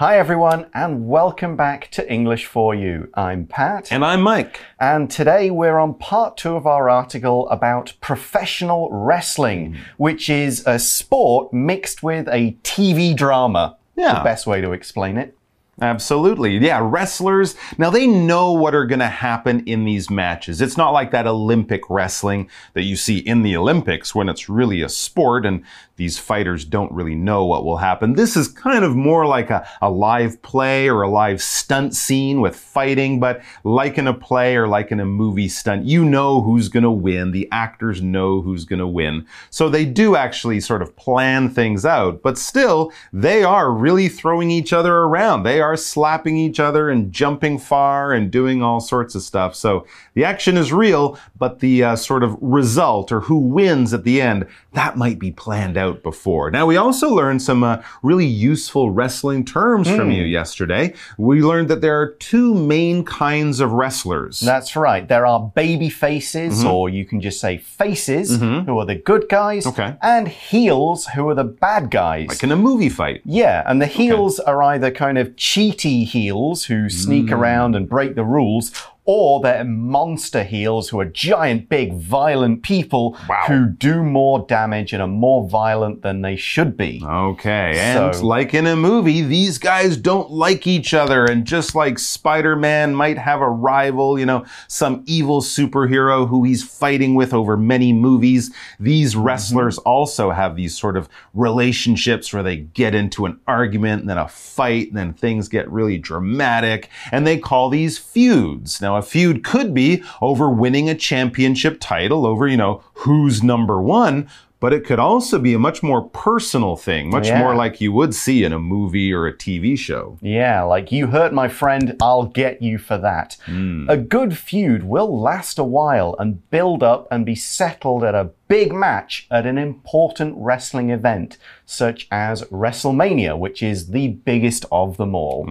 Hi everyone, and welcome back to English for You. I'm Pat. And I'm Mike. And today we're on part 2 of our article about professional wrestling, which is a sport mixed with a TV drama. Yeah. The best way to explain it. Absolutely. Yeah, wrestlers, now they know what are going to happen in these matches. It's not like that Olympic wrestling that you see in the Olympics when it's really a sport and these fighters don't really know what will happen. This is kind of more like a live play or a live stunt scene with fighting, but like in a play or like in a movie stunt, you know who's going to win. The actors know who's going to win. So they do actually sort of plan things out, but still, they are really throwing each other around. They are slapping each other and jumping far and doing all sorts of stuff. So the action is real, but the sort of result or who wins at the end, that might be planned out before. Now, we also learned some really useful wrestling terms from you yesterday. We learned that there are 2 main kinds of wrestlers. That's right. There are baby faces, or you can just say faces, who are the good guys, and heels, who are the bad guys. Like in a movie fight. Yeah, and the heels are either kind of cheaty heels who sneak around and break the rules, or they're monster heels who are giant, big, violent people who do more damage and are more violent than they should be. Okay, and like in a movie, these guys don't like each other. And just like Spider-Man might have a rival, you know, some evil superhero who he's fighting with over many movies, these wrestlers also have these sort of relationships where they get into an argument and then a fight and then things get really dramatic. And they call these feuds. Now, a feud could be over winning a championship title, over, you know, who's number 1, but it could also be a much more personal thing, much more like you would see in a movie or a TV show. Yeah, like you hurt my friend, I'll get you for that. A good feud will last a while and build up and be settled at a big match at an important wrestling event, such as WrestleMania, which is the biggest of them all.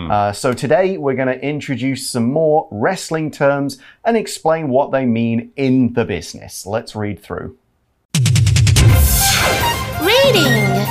So today we're going to introduce some more wrestling terms and explain what they mean in the business. Let's read through. Reading.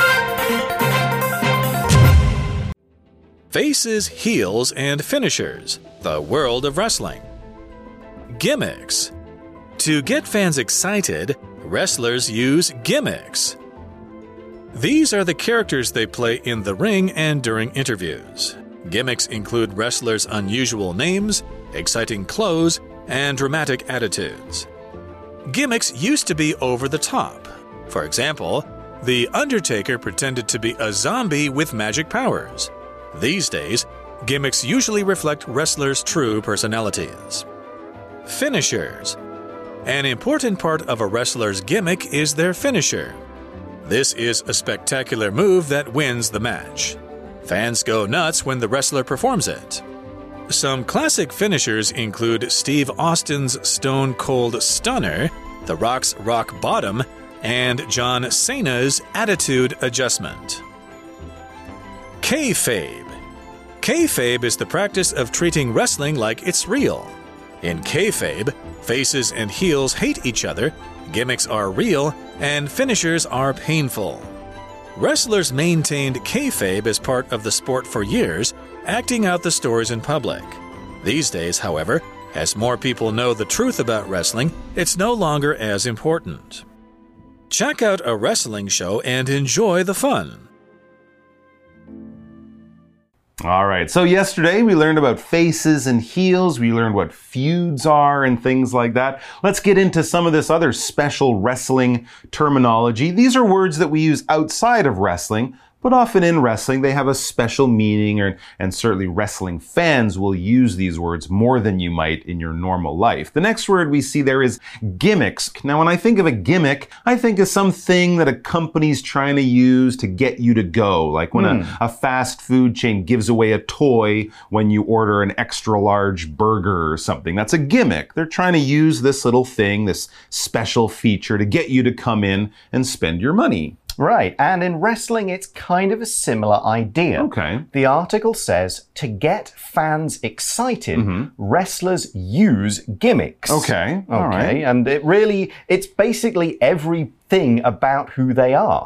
Faces, heels, and finishers. The world of wrestling. Gimmicks. To get fans excited, wrestlers use gimmicks. These are the characters they play in the ring and during interviews. Gimmicks include wrestlers' unusual names, exciting clothes, and dramatic attitudes. Gimmicks used to be over the top. For example, The Undertaker pretended to be a zombie with magic powers. These days, gimmicks usually reflect wrestlers' true personalities. Finishers. An important part of a wrestler's gimmick is their finisher. This is a spectacular move that wins the match. Fans go nuts when the wrestler performs it. Some classic finishers include Steve Austin's Stone Cold Stunner, The Rock's Rock Bottom, and John Cena's Attitude Adjustment. Kayfabe. Kayfabe is the practice of treating wrestling like it's real. In kayfabe, faces and heels hate each other, gimmicks are real, and finishers are painful. Wrestlers maintained kayfabe as part of the sport for years, acting out the stories in public. These days, however, as more people know the truth about wrestling, it's no longer as important. Check out a wrestling show and enjoy the fun. All right, so yesterday we learned about faces and heels. We learned what feuds are and things like that. Let's get into some of this other special wrestling terminology. These are words that we use outside of wrestling, but often in wrestling they have a special meaning, and certainly wrestling fans will use these words more than you might in your normal life. The next word we see there is gimmicks. Now, when I think of a gimmick, I think of something that a company's trying to use to get you to go. Like when a fast food chain gives away a toy when you order an extra large burger or something. That's a gimmick. They're trying to use this little thing, this special feature, to get you to come in and spend your money. Right, and in wrestling, it's kind of a similar idea. Okay. The article says, to get fans excited, wrestlers use gimmicks. Okay, all right. And it's basically everything about who they are.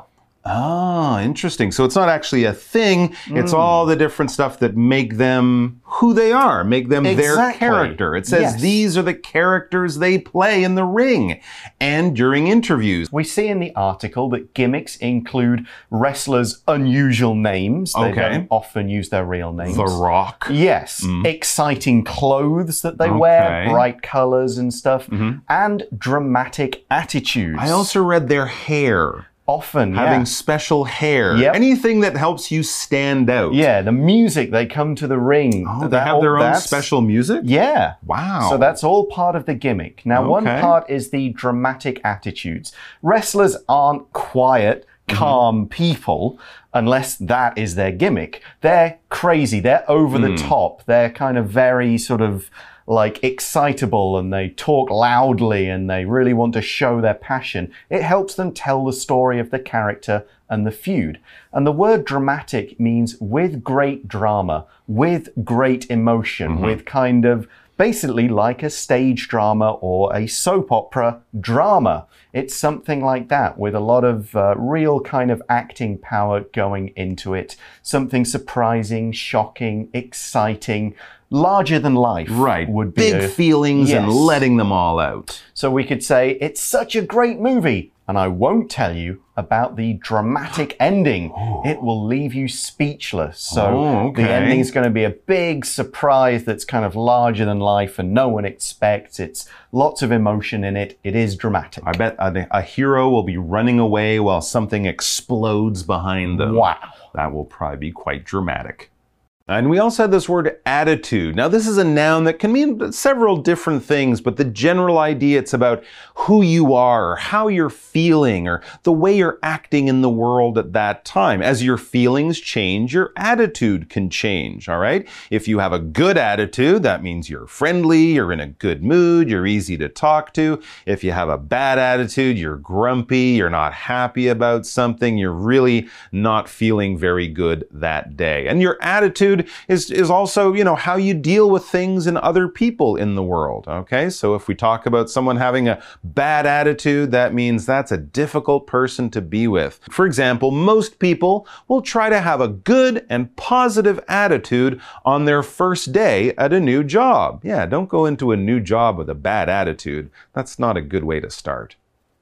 Ah, interesting. So it's not actually a thing. It's all the different stuff that make them who they are, make them their character. It says these are the characters they play in the ring and during interviews. We see in the article that gimmicks include wrestlers' unusual names. They don't often use their real names. The Rock. Yes. Exciting clothes that they wear, bright colors and stuff, and dramatic attitudes. I also read their hair. Often, having special hair. Anything that helps you stand out. Yeah, the music, they come to the ring. Oh, they have their own special music? Yeah. Wow. So that's all part of the gimmick. Now, one part is the dramatic attitudes. Wrestlers aren't quiet, calm people unless that is their gimmick. They're crazy. They're over the top. They're kind of very sort of like excitable, and they talk loudly and they really want to show their passion. It helps them tell the story of the character and the feud. And the word dramatic means with great drama, with great emotion, with kind of basically like a stage drama or a soap opera drama. It's something like that with a lot of real kind of acting power going into it. Something surprising, shocking, exciting, larger than life. Right. Would be big feelings and letting them all out. So we could say, it's such a great movie. And I won't tell you about the dramatic ending. It will leave you speechless. So the ending is going to be a big surprise that's kind of larger than life and no one expects. It's lots of emotion in it. It is dramatic. I bet a hero will be running away while something explodes behind them. Wow. That will probably be quite dramatic. And we also had this word attitude. Now, this is a noun that can mean several different things, but the general idea, it's about who you are, or how you're feeling, or the way you're acting in the world at that time. As your feelings change, your attitude can change, all right? If you have a good attitude, that means you're friendly, you're in a good mood, you're easy to talk to. If you have a bad attitude, you're grumpy, you're not happy about something, you're really not feeling very good that day. And your attitude is also, you know, how you deal with things and other people in the world, okay? So if we talk about someone having a bad attitude, that means that's a difficult person to be with. For example, most people will try to have a good and positive attitude on their first day at a new job. Yeah, don't go into a new job with a bad attitude. That's not a good way to start.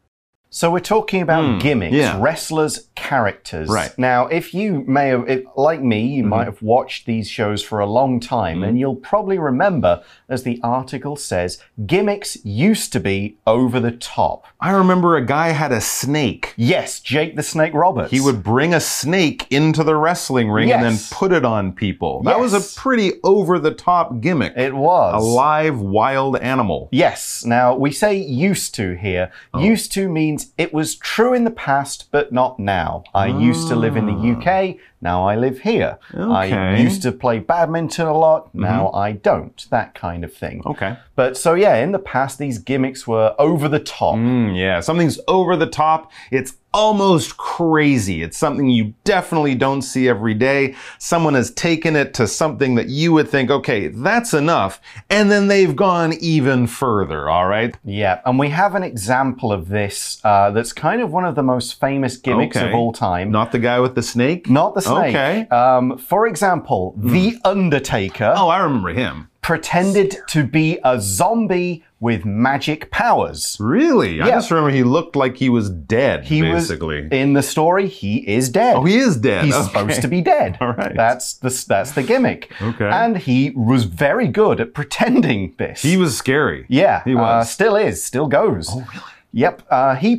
So we're talking about gimmicks, wrestlers' characters. Right. Now, if you may have, like me, you might have watched these shows for a long time, and you'll probably remember, as the article says, gimmicks used to be over the top. I remember a guy had a snake. Yes, Jake the Snake Roberts. He would bring a snake into the wrestling ring and then put it on people. That was a pretty over-the-top gimmick. It was. A live, wild animal. Yes. Now, we say used to here. Used to means it was true in the past, but not now. I used to live in the UK. Now I live here. I used to play badminton a lot. Now I don't. That kind of thing. Okay. But so yeah, in the past, these gimmicks were over the top. Yeah, something's over the top. It's almost crazy. It's something you definitely don't see every day. Someone has taken it to something that you would think, okay, that's enough. And then they've gone even further, all right? Yeah, and we have an example of this that's kind of one of the most famous gimmicks of all time. Not the guy with the snake? Not the snake. Okay. For example, The Undertaker. Oh, I remember him. Pretended to be a zombie with magic powers. Really? Yeah. I just remember he looked like he was dead, basically. In the story, he is dead. Oh, he is dead. He's supposed to be dead. All right. That's the gimmick. Okay. And he was very good at pretending this. He was scary. Yeah. He was. Still is. Still goes. Oh, really? Yep, he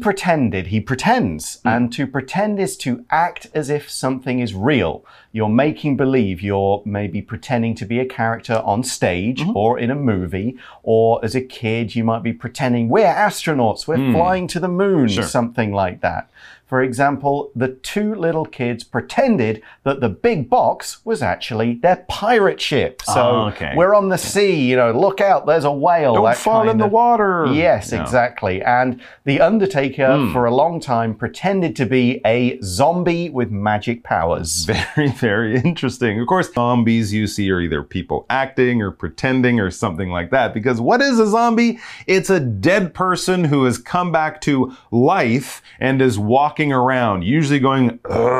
pretends, and to pretend is to act as if something is real. You're making believe, you're maybe pretending to be a character on stage or in a movie, or as a kid you might be pretending we're astronauts, we're flying to the moon, something like that. For example, the two little kids pretended that the big box was actually their pirate ship. So we're on the sea, you know, look out, there's a whale. Don't fall in the water. Yes, exactly. And The Undertaker, for a long time, pretended to be a zombie with magic powers. Very, very interesting. Of course, zombies you see are either people acting or pretending or something like that. Because what is a zombie? It's a dead person who has come back to life and is walking walking around, usually going,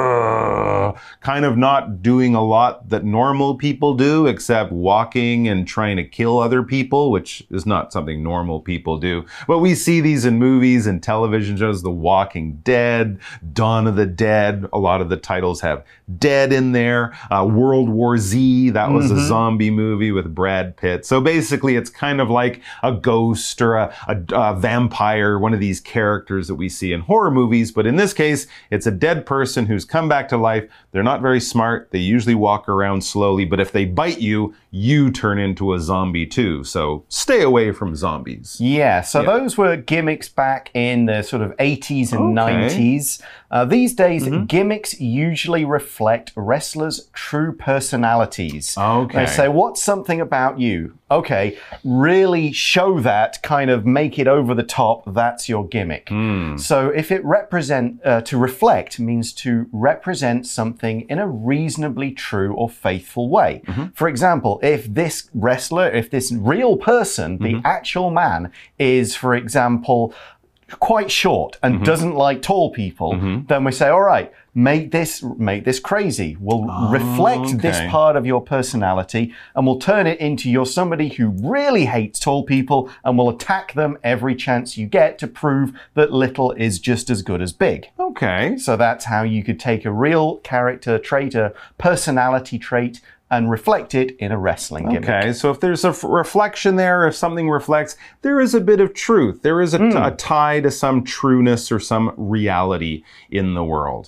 kind of not doing a lot that normal people do, except walking and trying to kill other people, which is not something normal people do. But we see these in movies and television shows, The Walking Dead, Dawn of the Dead. A lot of the titles have dead in there. World War Z, that was a zombie movie with Brad Pitt. So basically, it's kind of like a ghost or a vampire, one of these characters that we see in horror movies. But in this case, it's a dead person who's come back to life. They're not very smart. They usually walk around slowly. But if they bite you, you turn into a zombie too. So stay away from zombies. Yeah, so those were gimmicks back in the sort of 80s and 90s. These days, gimmicks usually reflect wrestlers' true personalities. Okay. They say, what's something about you? Okay, really show that, kind of make it over the top. That's your gimmick. So if it to reflect means to represent something in a reasonably true or faithful way. For example, if this wrestler, if this real person, the actual man is, for example, quite short and doesn't like tall people, then we say, all right, make this crazy. We'll reflect this part of your personality and we'll turn it into you're somebody who really hates tall people and will attack them every chance you get to prove that little is just as good as big. Okay. So that's how you could take a real character trait, a personality trait, and reflect it in a wrestling gimmick. Okay, so if there's a reflection there, if something reflects, there is a bit of truth. There is a tie to some trueness or some reality in the world.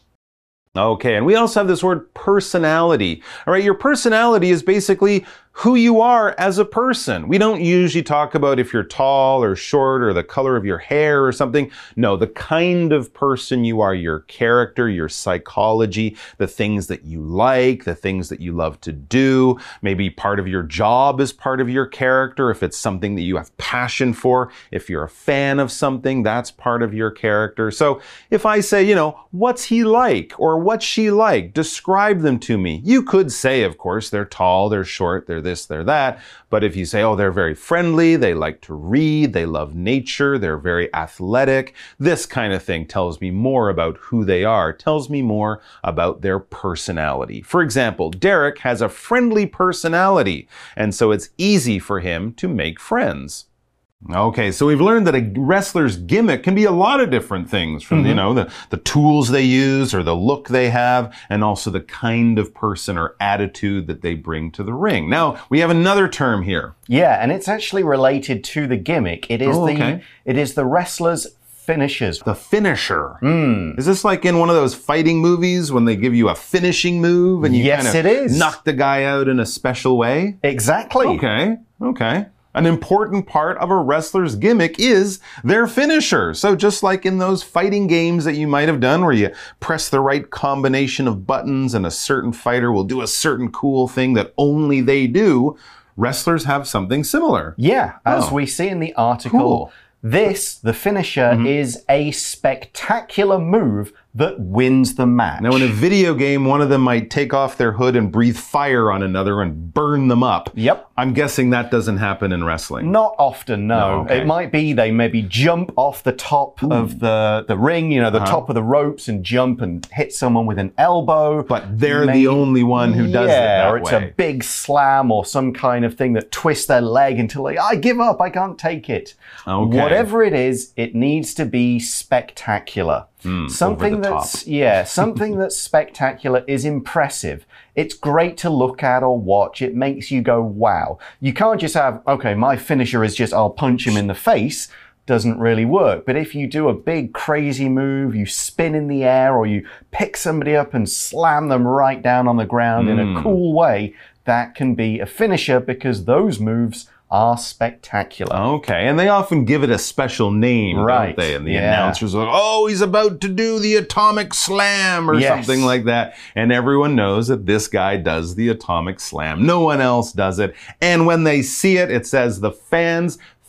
Okay, and we also have this word personality. All right, your personality is basically who you are as a person. We don't usually talk about if you're tall or short or the color of your hair or something. No, the kind of person you are, your character, your psychology, the things that you like, the things that you love to do. Maybe part of your job is part of your character. If it's something that you have passion for, if you're a fan of something, that's part of your character. So if I say, you know, what's he like or what's she like? Describe them to me. You could say, of course, they're tall, they're short, they're this, they're that. But if you say, oh, they're very friendly, they like to read, they love nature, they're very athletic, this kind of thing tells me more about who they are, tells me more about their personality. For example, Derek has a friendly personality, and so it's easy for him to make friends. Okay, so we've learned that a wrestler's gimmick can be a lot of different things, from, you know, the tools they use or the look they have, and also the kind of person or attitude that they bring to the ring. Now, we have another term here. Yeah, and it's actually related to the gimmick. It is it is the wrestler's finishers. The finisher. Is this like in one of those fighting movies when they give you a finishing move and you kind of knock the guy out in a special way? Exactly. Okay. An important part of a wrestler's gimmick is their finisher. So just like in those fighting games that you might have done where you press the right combination of buttons and a certain fighter will do a certain cool thing that only they do, wrestlers have something similar. Yeah, as we see in the article. Cool. This, the finisher, is a spectacular move that wins the match. Now, in a video game, one of them might take off their hood and breathe fire on another and burn them up. Yep. I'm guessing that doesn't happen in wrestling. Not often, no. Okay. It might be they maybe jump off the top of the ring, you know, the top of the ropes and jump and hit someone with an elbow. But they're the only one who does it that or it's way. a big slam or some kind of thing that twists their leg until they, I give up, I can't take it. Okay. Whatever it is, it needs to be spectacular. Something something that's spectacular is impressive. It's great to look at or watch. It makes you go, wow. You can't just have, okay, my finisher is just, I'll punch him in the face. Doesn't really work. But if you do a big crazy move, you spin in the air or you pick somebody up and slam them right down on the ground in a cool way, that can be a finisher because those moves are spectacular. Okay, and they often give it a special name, don't they? And the announcers are like, oh, he's about to do the atomic slam or something like that. And everyone knows that this guy does the atomic slam. No one else does it. And when they see it, it says the fans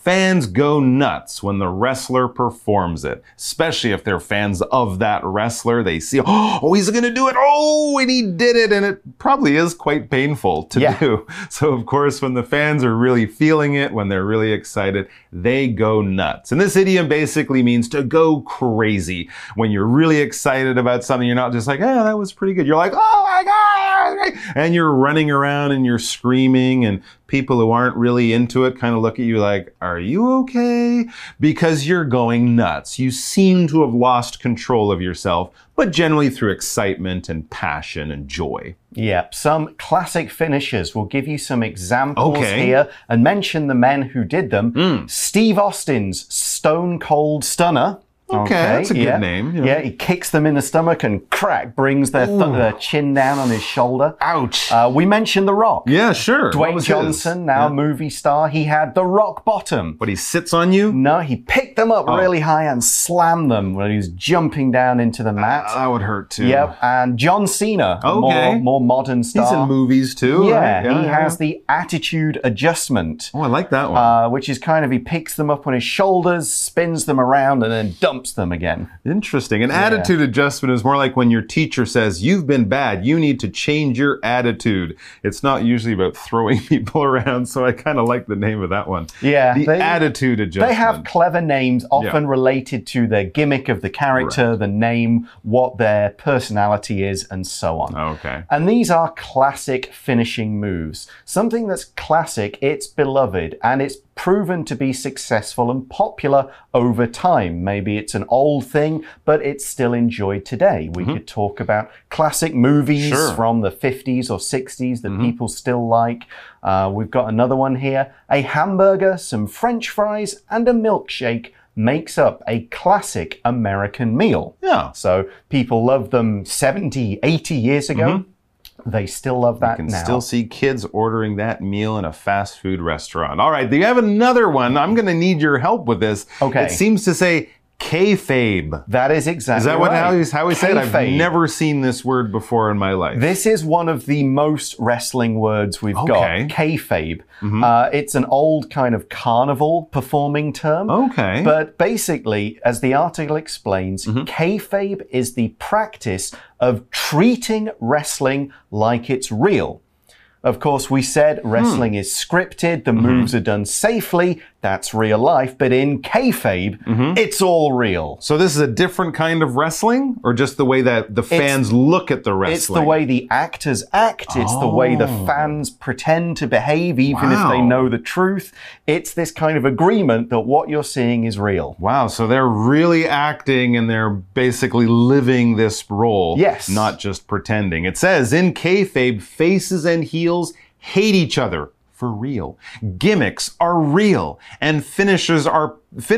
Fans go nuts when the wrestler performs it, especially if they're fans of that wrestler. They see, oh, he's going to do it. Oh, and he did it. And it probably is quite painful to do. So, of course, when the fans are really feeling it, when they're really excited, they go nuts. And this idiom basically means to go crazy. When you're really excited about something, you're not just like, yeah, that was pretty good. You're like, oh my God. And you're running around and you're screaming, and people who aren't really into it kind of look at you like, are you okay? Because you're going nuts. You seem to have lost control of yourself, but generally through excitement and passion and joy. Yep, some classic finishers. We'll give you some examples here and mention the men who did them. Steve Austin's Stone Cold Stunner. Okay, that's a good name. Yeah, he kicks them in the stomach and crack, brings their chin down on his shoulder. Ouch. We mentioned The Rock. Yeah, sure. Dwayne Johnson, now movie star, he had the rock bottom. But he sits on you? No, he picked them up really high and slammed them when he was jumping down into the mat. That would hurt too. Yep, and John Cena, more modern star. He's in movies too. Yeah, right? he has the attitude adjustment. Oh, I like that one. Which is kind of, he picks them up on his shoulders, spins them around, and then dumps them again. Interesting. An attitude adjustment is more like when your teacher says, you've been bad, you need to change your attitude. It's not usually about throwing people around, so I kind of like the name of that one. Yeah. The attitude adjustment. They have clever names, often related to the gimmick of the character, the name, what their personality is, and so on. Okay. And these are classic finishing moves. Something that's classic, it's beloved, and it's proven to be successful and popular over time. Maybe it's an old thing, but it's still enjoyed today. We could talk about classic movies from the 50s or 60s that people still like. We've got another one here. A hamburger, some French fries, and a milkshake makes up a classic American meal. Yeah. So people loved them 70, 80 years ago. They still love that now. You can still see kids ordering that meal in a fast food restaurant. All right, you have another one. I'm going to need your help with this. Okay. It seems to say kayfabe. That is exactly right. Is that how we say it? Kayfabe. I've never seen this word before in my life. This is one of the most wrestling words we've got. Kayfabe. It's an old kind of carnival performing term. Okay. But basically, as the article explains, kayfabe is the practice of treating wrestling like it's real. Of course, we said wrestling is scripted, the moves are done safely, that's real life, but in kayfabe, it's all real. So this is a different kind of wrestling, or just the way that the fans look at the wrestling? It's the way the actors act, it's the way the fans pretend to behave, even if they know the truth. It's this kind of agreement that what you're seeing is real. Wow, so they're really acting and they're basically living this role. Yes. Not just pretending. It says, in kayfabe, faces and heels hate each other for real. Gimmicks are real, and finishers are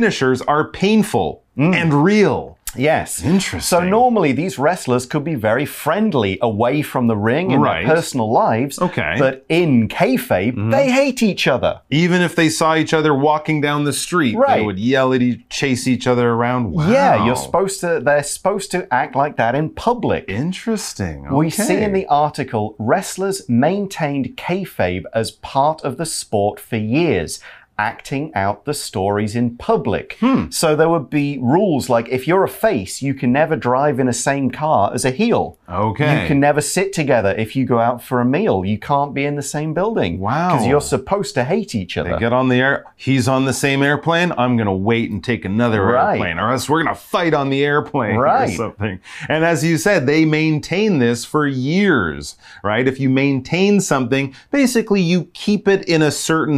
painful and real. Yes. Interesting. So normally these wrestlers could be very friendly away from the ring in their personal lives. Okay. But in kayfabe, they hate each other. Even if they saw each other walking down the street, they would yell at chase each other around. Wow. Yeah, they're supposed to act like that in public. Interesting. Okay. We see in the article, wrestlers maintained kayfabe as part of the sport for years, acting out the stories in public. So there would be rules like if you're a face, you can never drive in the same car as a heel. Okay. You can never sit together if you go out for a meal. You can't be in the same building. Wow. Because you're supposed to hate each other. They get on the air. He's on the same airplane. I'm going to wait and take another airplane, or else we're going to fight on the airplane or something. And as you said, they maintain this for years, right? If you maintain something, basically you keep it in a certain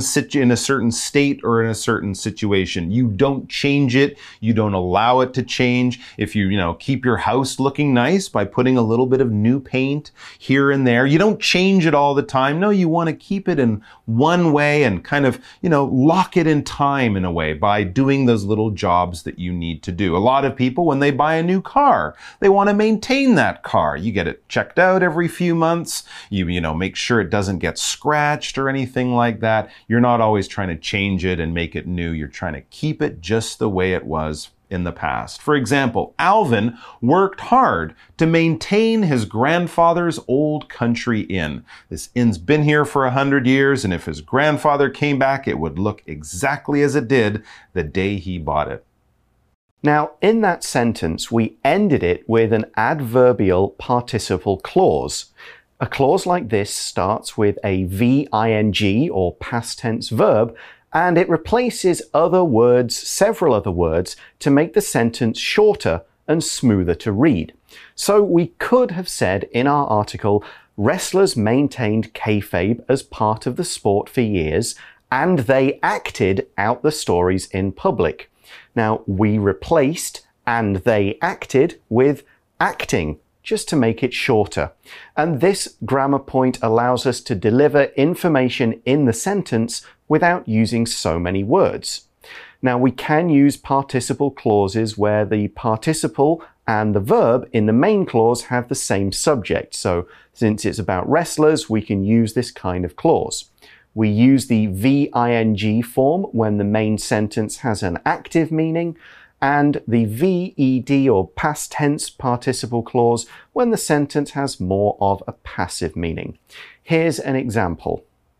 state or in a certain situation. You don't change it. You don't allow it to change. If you keep your house looking nice by putting a little bit of new paint here and there, you don't change it all the time. No, you want to keep it in one way and kind of, lock it in time in a way by doing those little jobs that you need to do. A lot of people, when they buy a new car, they want to maintain that car. You get it checked out every few months. You make sure it doesn't get scratched or anything like that. You're not always trying to change it and make it new. You're trying to keep it just the way it was in the past. For example, Alvin worked hard to maintain his grandfather's old country inn. This inn's been here for 100 years, and if his grandfather came back, it would look exactly as it did the day he bought it. Now, in that sentence, we ended it with an adverbial participle clause. A clause like this starts with a VING or past tense verb, and it replaces other words, several other words, to make the sentence shorter and smoother to read. So we could have said in our article, wrestlers maintained kayfabe as part of the sport for years, and they acted out the stories in public. Now, we replaced and they acted with acting, just to make it shorter. And this grammar point allows us to deliver information in the sentence without using so many words. Now, we can use participle clauses where the participle and the verb in the main clause have the same subject. So, since it's about wrestlers, we can use this kind of clause. We use the VING form when the main sentence has an active meaning, and the VED or past tense participle clause when the sentence has more of a passive meaning. Here's an example.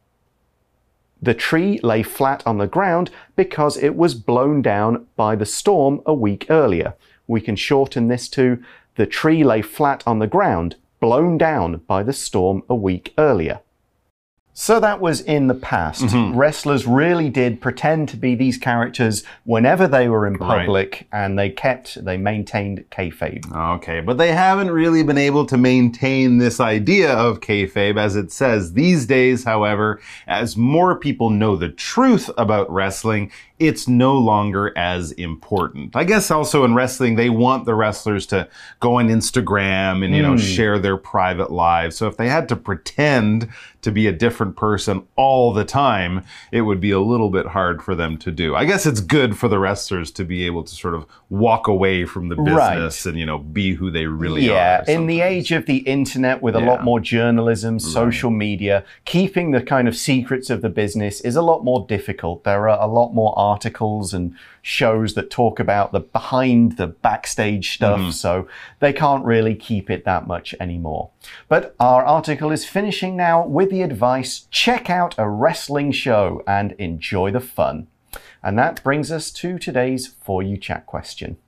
The tree lay flat on the ground because it was blown down by the storm a week earlier. We can shorten this to, the tree lay flat on the ground, blown down by the storm a week earlier. So that was in the past. Wrestlers really did pretend to be these characters whenever they were in public, and they maintained kayfabe. Okay, but they haven't really been able to maintain this idea of kayfabe as it says these days. However, as more people know the truth about wrestling, it's no longer as important. I guess also in wrestling, they want the wrestlers to go on Instagram and, you know, share their private lives. So if they had to pretend to be a different person all the time, it would be a little bit hard for them to do. I guess it's good for the wrestlers to be able to sort of walk away from the business and, you know, be who they really are. Yeah, in the age of the internet with a lot more journalism, social media, keeping the kind of secrets of the business is a lot more difficult. There are a lot more articles and shows that talk about the behind the backstage stuff, so they can't really keep it that much anymore. But our article is finishing now with the advice, check out a wrestling show and enjoy the fun. And that brings us to today's For You Chat question.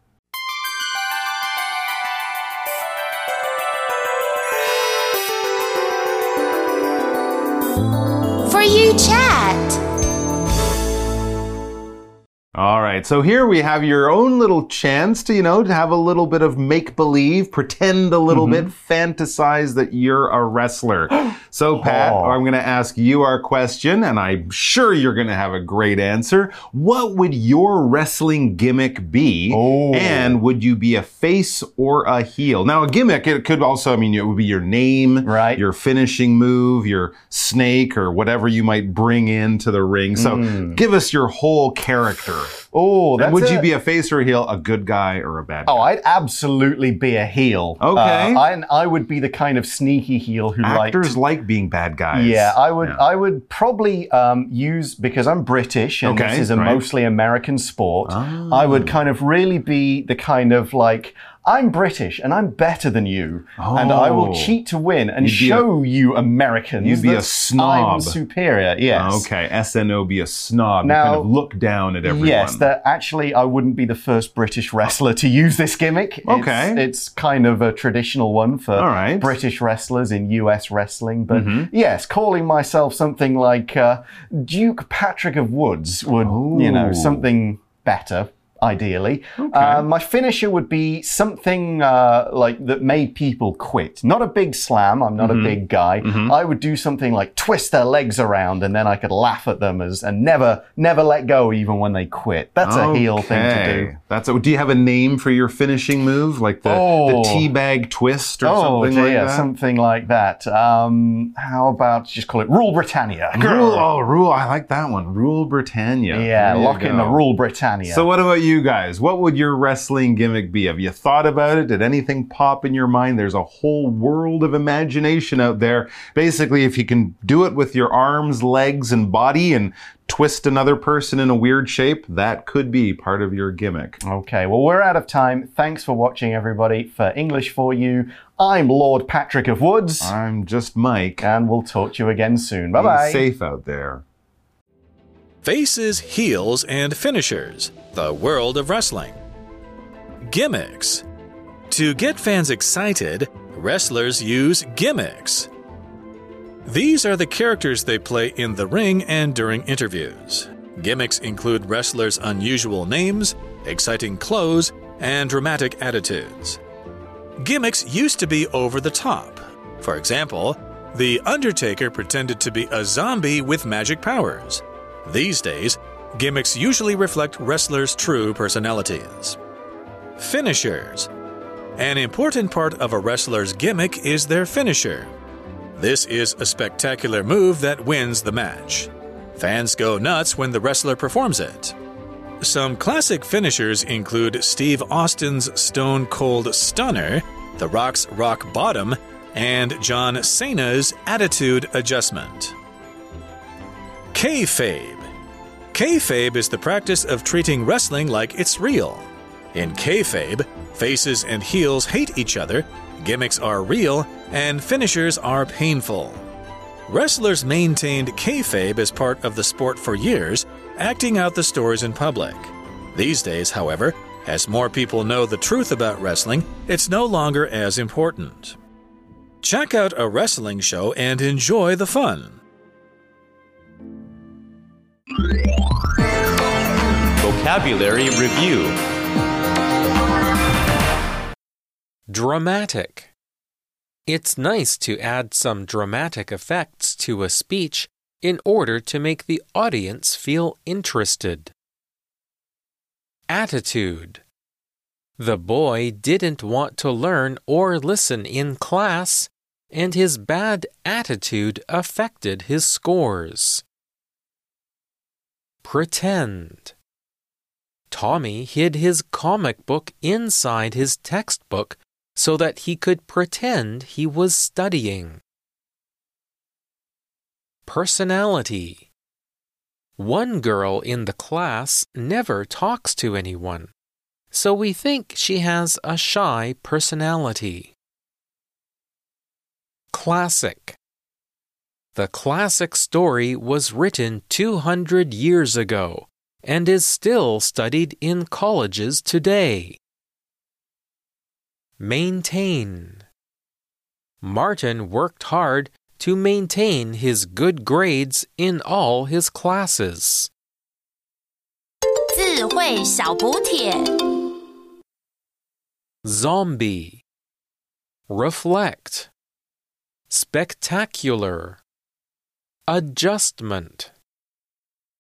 For You Chat. All right, so here we have your own little chance to, you know, to have a little bit of make-believe, pretend a little bit, fantasize that you're a wrestler. So, Pat, I'm going to ask you our question, and I'm sure you're going to have a great answer. What would your wrestling gimmick be? And would you be a face or a heel? Now, a gimmick, it could also, I mean, it would be your name, your finishing move, your snake, or whatever you might bring into the ring. So, give us your whole character. And would you be a face or a heel, a good guy or a bad guy? I'd absolutely be a heel. Okay. I would be the kind of sneaky heel who Actors like being bad guys. Yeah, I would probably use, because I'm British and this is a mostly American sport, I would kind of really be the kind of like, I'm British and I'm better than you, and I will cheat to win and show you Americans you'd be a snob. I'm superior, yes. Okay, SNO, be a snob. Now, you kind of look down at everyone. Yes, actually I wouldn't be the first British wrestler to use this gimmick. It's kind of a traditional one for British wrestlers in US wrestling, but yes, calling myself something like Duke Patrick of Woods would, you know, something better. Ideally. My finisher would be something like that made people quit. Not a big slam, I'm not a big guy. I would do something like twist their legs around and then I could laugh at them and never let go even when they quit. That's a heel thing to do. Do you have a name for your finishing move? Like the teabag twist or something like that? Something like that. How about just call it Rule Britannia? Rule, I like that one. Rule Britannia. Yeah, lock in the Rule Britannia. So what about you? you guys? What would your wrestling gimmick be? Have you thought about it? Did anything pop in your mind? There's a whole world of imagination out there. Basically, if you can do it with your arms, legs, and body and twist another person in a weird shape, that could be part of your gimmick. Okay, well, we're out of time. Thanks for watching, everybody. For English for You, I'm Lord Patrick of Woods. I'm just Mike. And we'll talk to you again soon. Bye-bye. Be safe out there. Faces, heels, and finishers. The world of wrestling. Gimmicks. To get fans excited, wrestlers use gimmicks. These are the characters they play in the ring and during interviews. Gimmicks include wrestlers' unusual names, exciting clothes, and dramatic attitudes. Gimmicks used to be over the top. For example, The Undertaker pretended to be a zombie with magic powers. These days, gimmicks usually reflect wrestlers' true personalities. Finishers. An important part of a wrestler's gimmick is their finisher. This is a spectacular move that wins the match. Fans go nuts when the wrestler performs it. Some classic finishers include Steve Austin's Stone Cold Stunner, The Rock's Rock Bottom, and John Cena's Attitude Adjustment. Kayfabe. Kayfabe is the practice of treating wrestling like it's real. In kayfabe, faces and heels hate each other, gimmicks are real, and finishers are painful. Wrestlers maintained kayfabe as part of the sport for years, acting out the stories in public. These days, however, as more people know the truth about wrestling, it's no longer as important. Check out a wrestling show and enjoy the fun. Vocabulary Review. Dramatic. It's nice to add some dramatic effects to a speech in order to make the audience feel interested. Attitude. The boy didn't want to learn or listen in class, and his bad attitude affected his scores. Pretend. Tommy hid his comic book inside his textbook so that he could pretend he was studying. Personality. One girl in the class never talks to anyone, so we think she has a shy personality. Classic. The classic story was written 200 years ago and is still studied in colleges today. Maintain. Martin worked hard to maintain his good grades in all his classes. 智慧小補帖 Zombie. Reflect. Spectacular. Adjustment.